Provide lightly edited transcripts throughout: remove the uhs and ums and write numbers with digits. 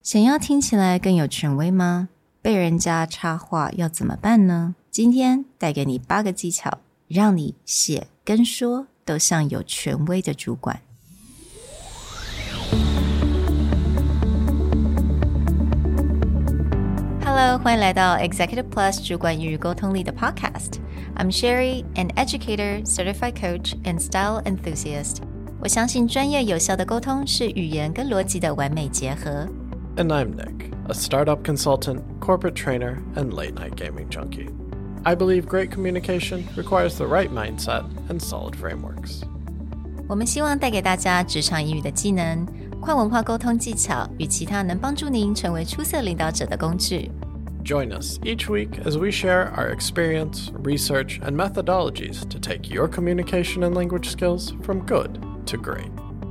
想要聽起來更有權威嗎？被人家插話要怎麼辦呢？今天帶給你8個技巧，讓你寫跟說都像有權威的主管。Hello， 歡迎來到 Executive Plus 主管與溝通力的 Podcast。I'm Sherry, an educator, certified coach, and style enthusiast. 我相信專業有效的溝通是語言跟邏輯的完美結合。 And I'm Nick, a startup consultant, corporate trainer, and late-night gaming junkie. I believe great communication requires the right mindset and solid frameworks. 我們希望帶給大家職場英語的技能、跨文化溝通技巧與其他能幫助您成為出色領導者的工具。 Join us each week as we share our experience, research, and methodologies to take your communication and language skills from good to great.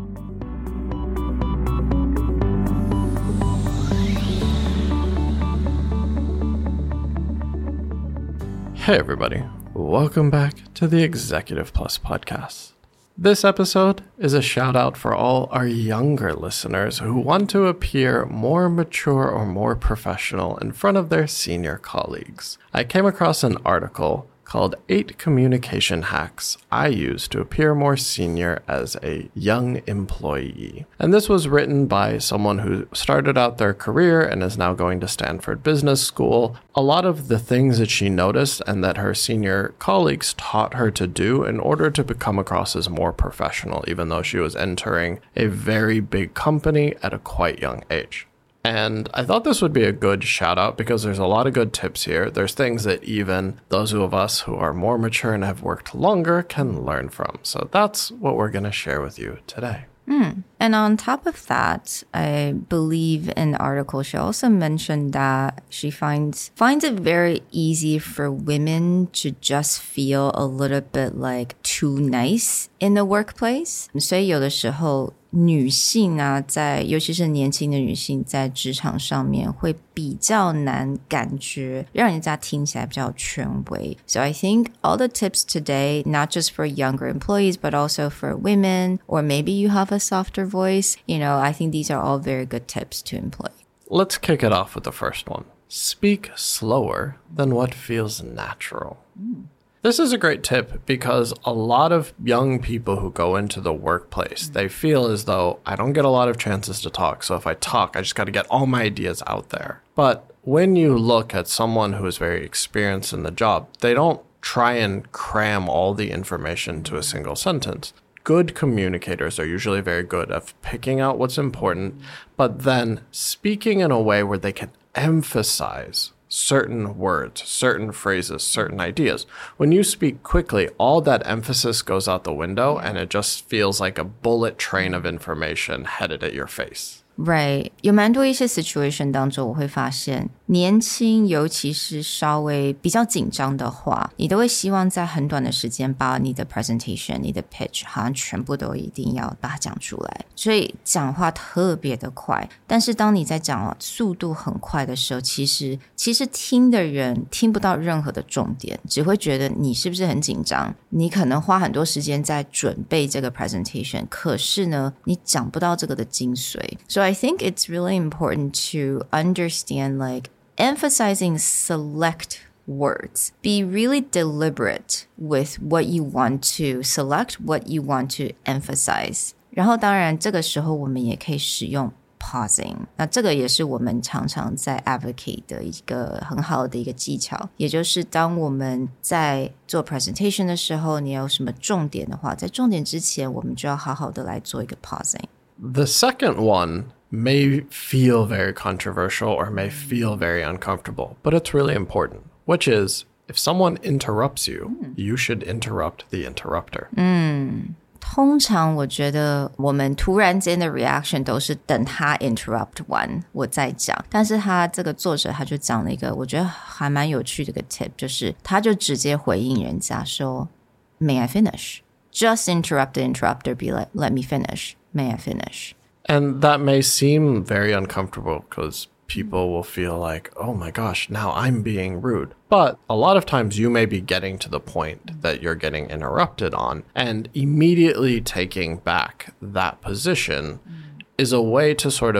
Hey everybody, welcome back to the Executive Plus podcast. This episode is a shout out for all our younger listeners who want to appear more mature or more professional in front of their senior colleagues. I came across an article called 8 Communication Hacks I Use to Appear More Senior as a Young Employee. And this was written by someone who started out their career and is now going to Stanford Business School. A lot of the things that she noticed and that her senior colleagues taught her to do in order to come across as more professional, even though she was entering a very big company at a quite young age. And I thought this would be a good shout out because there's a lot of good tips here. There's things that even those of us who are more mature and have worked longer can learn from. So that's what we're going to share with you today. And on top of that, I believe in the article, she also mentioned that she finds it very easy for women to just feel a little bit like too nice in the workplace. 所以有的時候女性啊，尤其是年輕的女性在職場上面會比較難感覺讓人家聽起來比較權威。So I think all the tips today, not just for younger employees, but also for women, or maybe you have a softer voice, I think these are all very good tips to employ. Let's kick it off with the first one. Speak slower than what feels natural. This is a great tip because a lot of young people who go into the workplace, they feel as though I don't get a lot of chances to talk. So if I talk, I just got to get all my ideas out there. But when you look at someone who is very experienced in the job, they don't try and cram all the information to a single sentence. Good communicators are usually very good at picking out what's important, but then speaking in a way where they can emphasize certain words, certain phrases, certain ideas. When you speak quickly, all that emphasis goes out the window and it just feels like a bullet train of information headed at your face. Right. 有蠻多一些 situation 當中我會發現年輕尤其是稍微比較緊張的話你都會希望在很短的時間把你的 presentation 你的 pitch 好像全部都一定要把它講出來所以講話特別的快但是當你在講速度很快的時候其實聽的人聽不到任何的重點只會覺得你是不是很緊張你可能花很多時間在準備這個 presentation 可是呢你講不到這個的精髓所以I think it's really important to understand emphasizing select words. Be really deliberate with what you want to select, what you want to emphasize. 然後當然這個時候我們也可以使用 pausing. 那這個也是我們常常在 advocate 的一個很好的一個技巧也就是當我們在做 presentation 的時候你有什麼重點的話在重點之前我們就要好好的來做一個 pausing. The second one may feel very controversial or may feel very uncomfortable, but it's really important, which is if someone interrupts you, you should interrupt the interrupter. 通常我覺得我們突然間的 reaction 都是等他 interrupt 完我再講但是他這個作者他就講了一個我覺得還蠻有趣的一個 tip 就是他就直接回應人家說 May I finish? Just interrupt the interrupter, be like, let me finish. May I finish? And that may seem very uncomfortable because people will feel like, oh my gosh, now I'm being rude. But a lot of times you may be getting to the point that you're getting interrupted on and immediately taking back that position is a way to sort of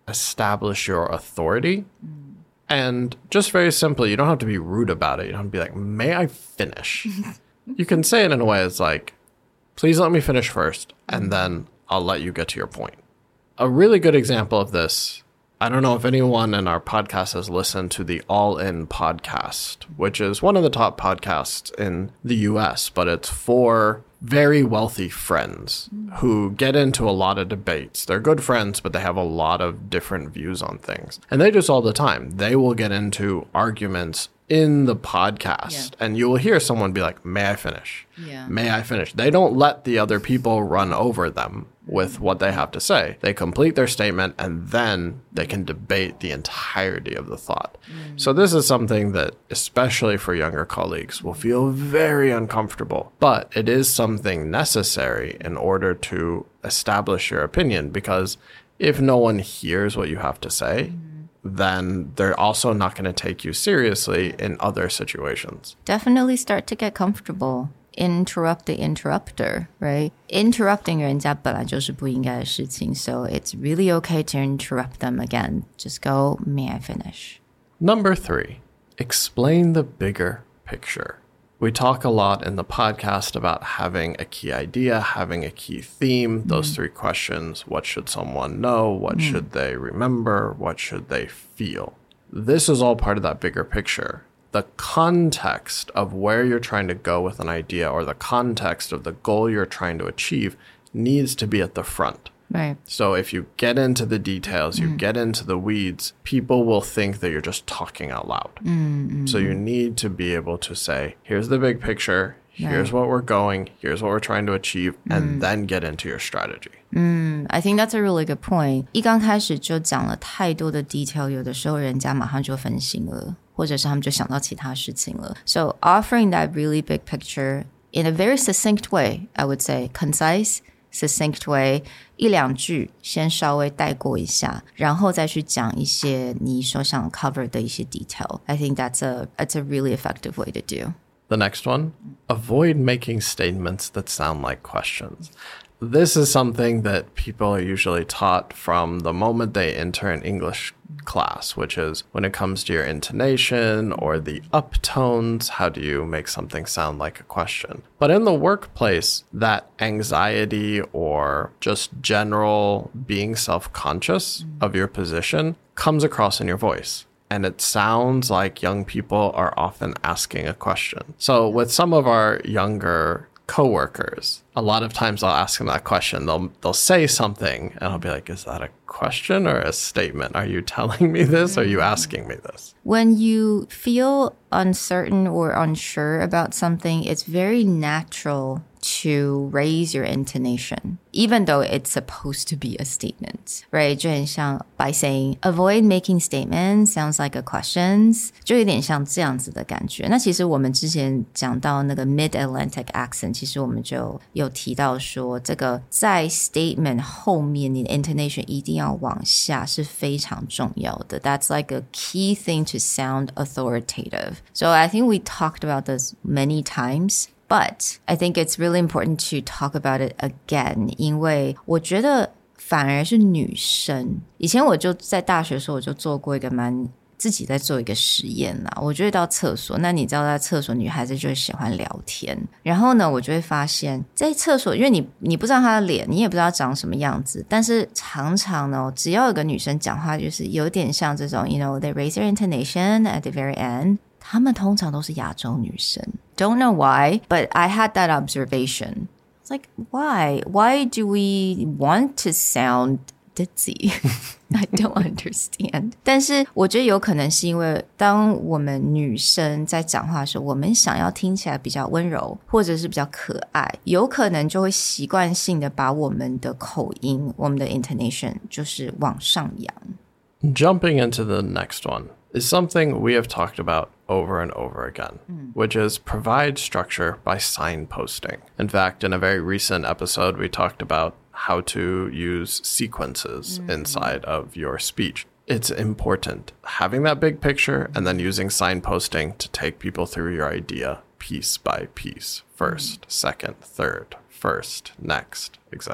establish your authority. And just very simply, you don't have to be rude about it. You don't have to be like, may I finish? You can say it in a way that's like, please let me finish first, and then I'll let you get to your point. A really good example of this, I don't know if anyone in our podcast has listened to the All In podcast, which is one of the top podcasts in the US, but it's for very wealthy friends who get into a lot of debates. They're good friends, but they have a lot of different views on things. And they do this all the time. They will get into arguments in the podcast, and you will hear someone be like, may I finish? May I finish? They don't let the other people run over them with what they have to say. They complete their statement, and then they can debate the entirety of the thought. So this is something that, especially for younger colleagues, will feel very uncomfortable. But it is something necessary in order to establish your opinion, because if no one hears what you have to say, then they're also not going to take you seriously in other situations. Definitely start to get comfortable. Interrupt the interrupter, right? Interrupting 人家本来就是不应该的事情, so it's really okay to interrupt them again. Just go, may I finish? Number 3, explain the bigger picture. We talk a lot in the podcast about having a key idea, having a key theme, those 3 questions. What should someone know? What should they remember? What should they feel? This is all part of that bigger picture. The context of where you're trying to go with an idea, or the context of the goal you're trying to achieve, needs to be at the front. Right. So if you get into the details, you get into the weeds, people will think that you're just talking out loud. So you need to be able to say, here's the big picture, here's what we're going, here's what we're trying to achieve, and then get into your strategy. I think that's a really good point. 一刚開始就講了太多的 detail, 有的時候人家馬上就分心了，或者是他們就想到其他事情了. So offering that really big picture in a very succinct way, I would say, concise, succinct way, 一兩句先稍微帶過一下，然後再去講一些你所想 cover 的一些 detail. I think that's a really effective way to do. The next one, avoid making statements that sound like questions. This is something that people are usually taught from the moment they enter an English class, which is when it comes to your intonation or the uptones, how do you make something sound like a question? But in the workplace, that anxiety or just general being self-conscious of your position comes across in your voice. And it sounds like young people are often asking a question. So with some of our younger coworkers, a lot of times I'll ask them that question. They'll say something and I'll be like, is that a question or a statement? Are you telling me this? Or are you asking me this? When you feel uncertain or unsure about something, it's very natural to raise your intonation, even though it's supposed to be a statement, right? 就很像 by saying, avoid making statements sounds like a questions, 就有點像這樣子的感覺。那其實我們之前講到那個 Mid-Atlantic accent, 其實我們就有提到說，這個在 statement 後面你的 intonation 一定要往下是非常重要的。That's like a key thing to sound authoritative. So I think we talked about this many times. But I think it's really important to talk about it again, 因為我覺得反而是女生。以前我就在大學的時候，我就做過一個自己在做一個實驗啦。我就會到廁所，那你知道在廁所女孩子就會喜歡聊天。然後呢，我就會發現，在廁所，因為你不知道她的臉，你也不知道長什麼樣子，但是常常呢，只要有個女生講話，就是有點像這種 you know, they raise their intonation at the very end. 她們通常都是亞洲女生。Don't know why, but I had that observation. It's like, why? Why do we want to sound ditzy? I don't understand. 但是我覺得有可能是因為當我們女生在講話的時候，我們想要聽起來比較溫柔，或者是比較可愛，有可能就會習慣性的把我們的口音，我們的 intonation 就是往上揚。 Jumping into the next one is something we have talked about over and over again, which is provide structure by signposting. In fact, in a very recent episode, we talked about how to use sequences inside of your speech. It's important having that big picture and then using signposting to take people through your idea piece by piece. First, second, third, first, next, etc.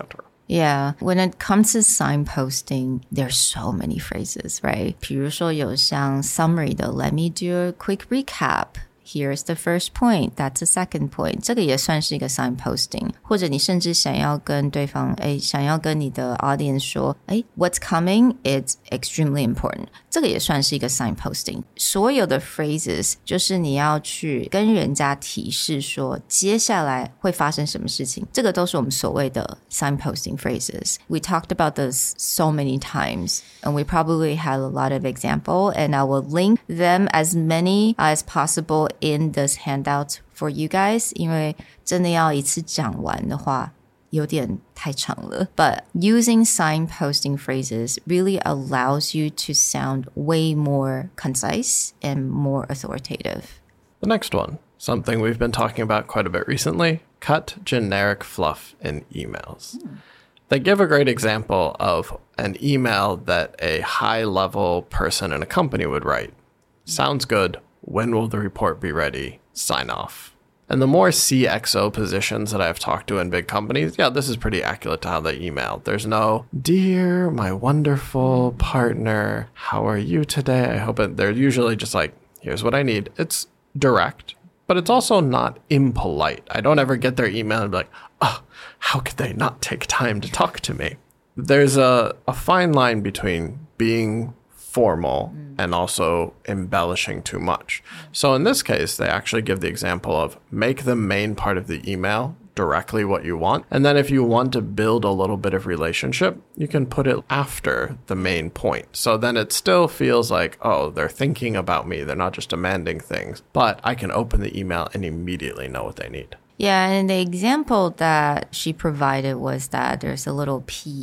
Yeah, when it comes to signposting, there's so many phrases, right? 比如说有像 summary 的 let me do a quick recap.Here's the first point. That's the second point. 這個也算是一個 signposting. 或者你甚至想要跟對方，想要跟你的 audience 說，what's coming? It's extremely important. 這個也算是一個 signposting. 所有的 phrases 就是你要去跟人家提示說，接下來會發生什麼事情。這個都是我們所謂的 signposting phrases. We talked about this so many times, and we probably had a lot of examples, and I will link them as many as possible.In this handout for you guys, 因為真的要一次講完的話，有點太長了。But using signposting phrases really allows you to sound way more concise and more authoritative. The next one, something we've been talking about quite a bit recently, cut generic fluff in emails. They give a great example of an email that a high-level person in a company would write. Sounds good.When will the report be ready? Sign off. And the more CXO positions that I've talked to in big companies, yeah, this is pretty accurate to how they email. There's no, dear, my wonderful partner, how are you today? I hope it, they're usually just like, here's what I need. It's direct, but it's also not impolite. I don't ever get their email and be like, how could they not take time to talk to me? There's a fine line between being formal and also embellishing too much. So in this case, they actually give the example of make the main part of the email directly what you want. And then if you want to build a little bit of relationship, you can put it after the main point. So then it still feels like, oh, they're thinking about me. They're not just demanding things, but I can open the email and immediately know what they need. Yeah, and the example that she provided was that there's a little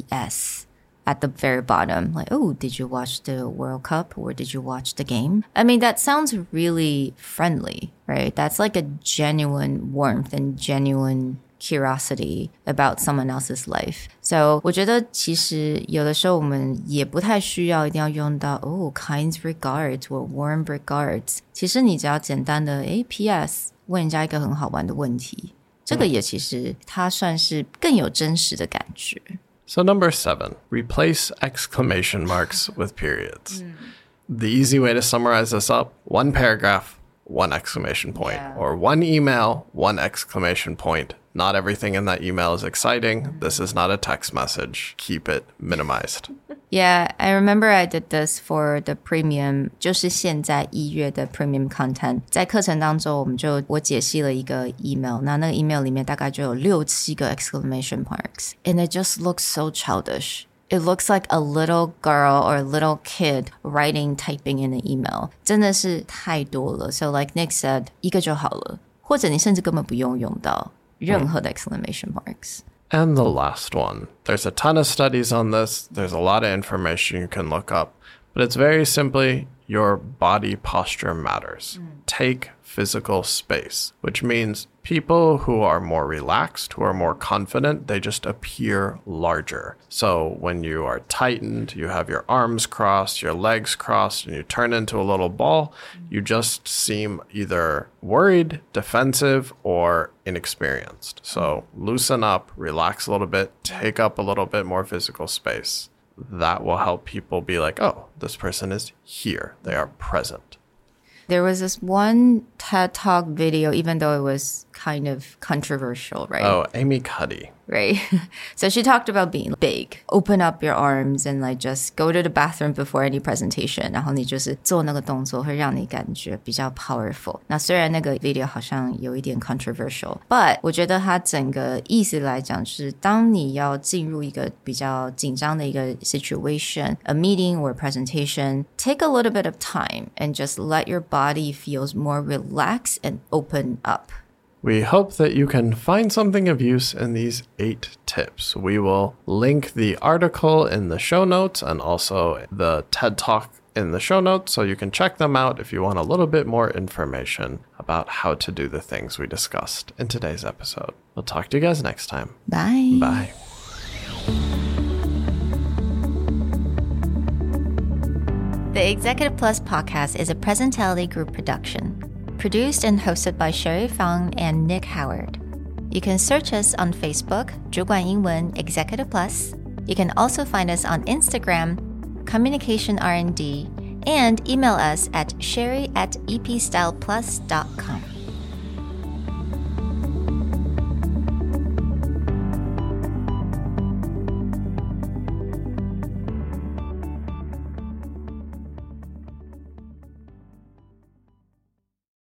PS.At the very bottom, like, oh, did you watch the World Cup or did you watch the game? I mean, that sounds really friendly, right? That's like a genuine warmth and genuine curiosity about someone else's life. So 我觉得其實有的時候我們也不太需要一定要用到kind regards or warm regards. 其實你只要簡單的PS 問人家一個很好玩的問題，這個也其實它算是更有真實的感覺。 So number 7, replace exclamation marks with periods. The easy way to summarize this up, one paragraph, one exclamation point, or one email, one exclamation point. Not everything in that email is exciting. This is not a text message. Keep it minimized. Yeah, I remember I did this for the premium, 就是现在1月的 premium content. 在課程當中我解析了一個 email. 那個 email 裡面大概就有6-7個 exclamation marks. And it just looks so childish. It looks like a little girl or a little kid typing in an email. 真的是太多了. So like Nick said, 一個就好了。或者你甚至根本不用用到任何的 exclamation marks.And the last one. There's a ton of studies on this. There's a lot of information you can look up. But it's very simply your body posture matters. Take physical space, which means people who are more relaxed, who are more confident, they just appear larger. So when you are tightened, you have your arms crossed, your legs crossed, and you turn into a little ball, you just seem either worried, defensive, or inexperienced. So loosen up, relax a little bit, take up a little bit more physical space. That will help people be like, oh, this person is here. They are present. There was this one TED Talk video, even though it was kind of controversial, right? Oh, Amy Cuddy. Right. So she talked about being big. Open up your arms and like just go to the bathroom before any presentation. 然後你就是做那個動作會讓你感覺比較 powerful. 那雖然那個 video 好像有一點 controversial, but 我覺得它整個意思來講是當你要進入一個比較緊張的一個 situation, a meeting or a presentation, take a little bit of time and just let your body feel more relaxed and open up.We hope that you can find something of use in these 8 tips. We will link the article in the show notes and also the TED Talk in the show notes, so you can check them out if you want a little bit more information about how to do the things we discussed in today's episode. We'll talk to you guys next time. Bye. Bye. The Executive Plus podcast is a Presentality Group production.Produced and hosted by Sherry Fang and Nick Howard. You can search us on Facebook, 主管英文 Executive Plus. You can also find us on Instagram, Communication R&D, and email us at sherry@epstyleplus.com.